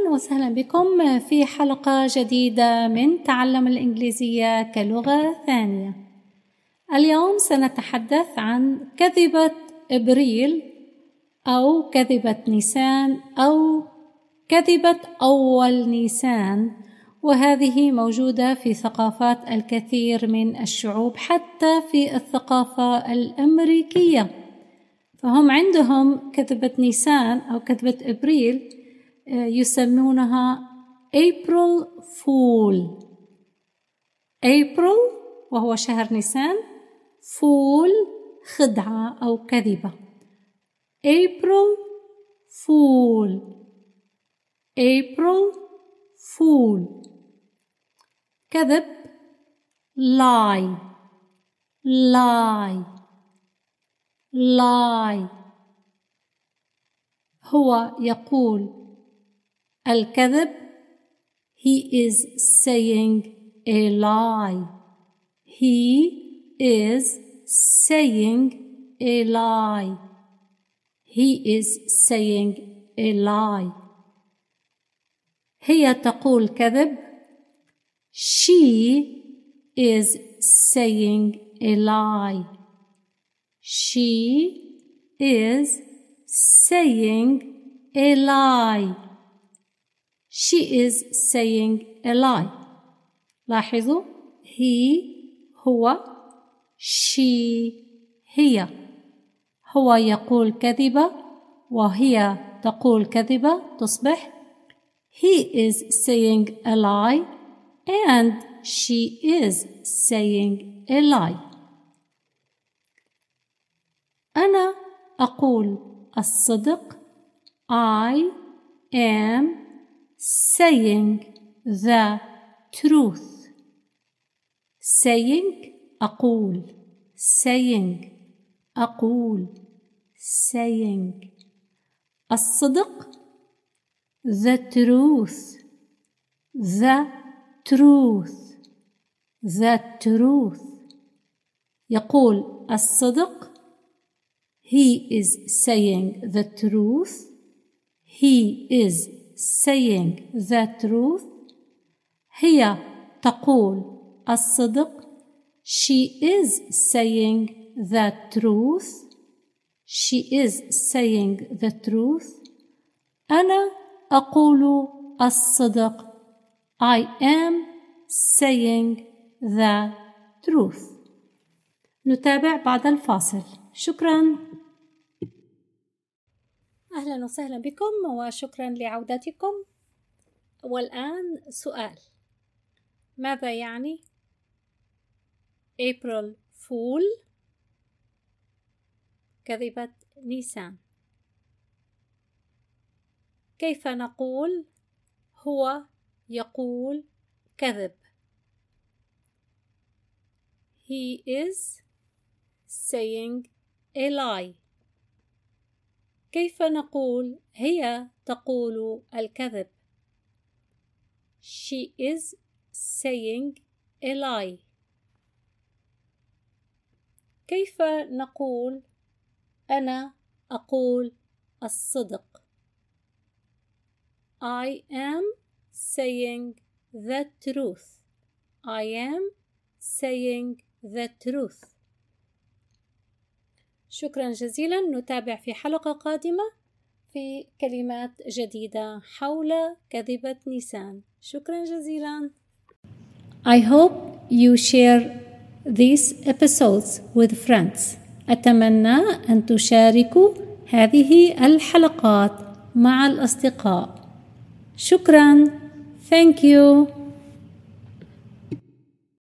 أهلا وسهلا بكم في حلقة جديدة من تعلم الإنجليزية كلغة ثانية. اليوم سنتحدث عن كذبة إبريل أو كذبة نيسان أو كذبة أول نيسان، وهذه موجودة في ثقافات الكثير من الشعوب حتى في الثقافة الأمريكية، فهم عندهم كذبة نيسان أو كذبة إبريل يسمونها April Fool. April وهو شهر نيسان، Fool خدعة أو كذبة. April Fool. April Fool. كذب lie. Lie. Lie. هو يقول الكذب. He is saying a lie. He is saying a lie. He is saying a lie. هي تقول كذب. She is saying a lie. She is saying a lie. She is saying a lie. لاحظوا he هو، she هي. هو يقول كذبة وهي تقول كذبة، تصبح he is saying a lie and she is saying a lie. أنا أقول الصدق. I am saying the truth. Saying أقول. Saying أقول. Saying الصدق. The truth. The truth. The truth. يقول الصدق. He is saying the truth. He is saying the truth. هي تقول الصدق. She is saying the truth. She is saying the truth. أنا أقول الصدق. I am saying the truth. نتابع بعد الفاصل. شكراً. أهلا وسهلا بكم وشكرا لعودتكم. والآن سؤال: ماذا يعني April Fool؟ كذبة نيسان. كيف نقول هو يقول كذب؟ He is saying a lie. كيف نقول هي تقول الكذب؟ She is saying a lie. كيف نقول أنا أقول الصدق؟ I am saying the truth. I am saying the truth. شكرا جزيلا. نتابع في حلقة قادمة في كلمات جديدة حول كذبة نيسان. شكرا جزيلا. I hope you share these episodes with friends. أتمنى أن تشاركوا هذه الحلقات مع الأصدقاء. شكرا. Thank you.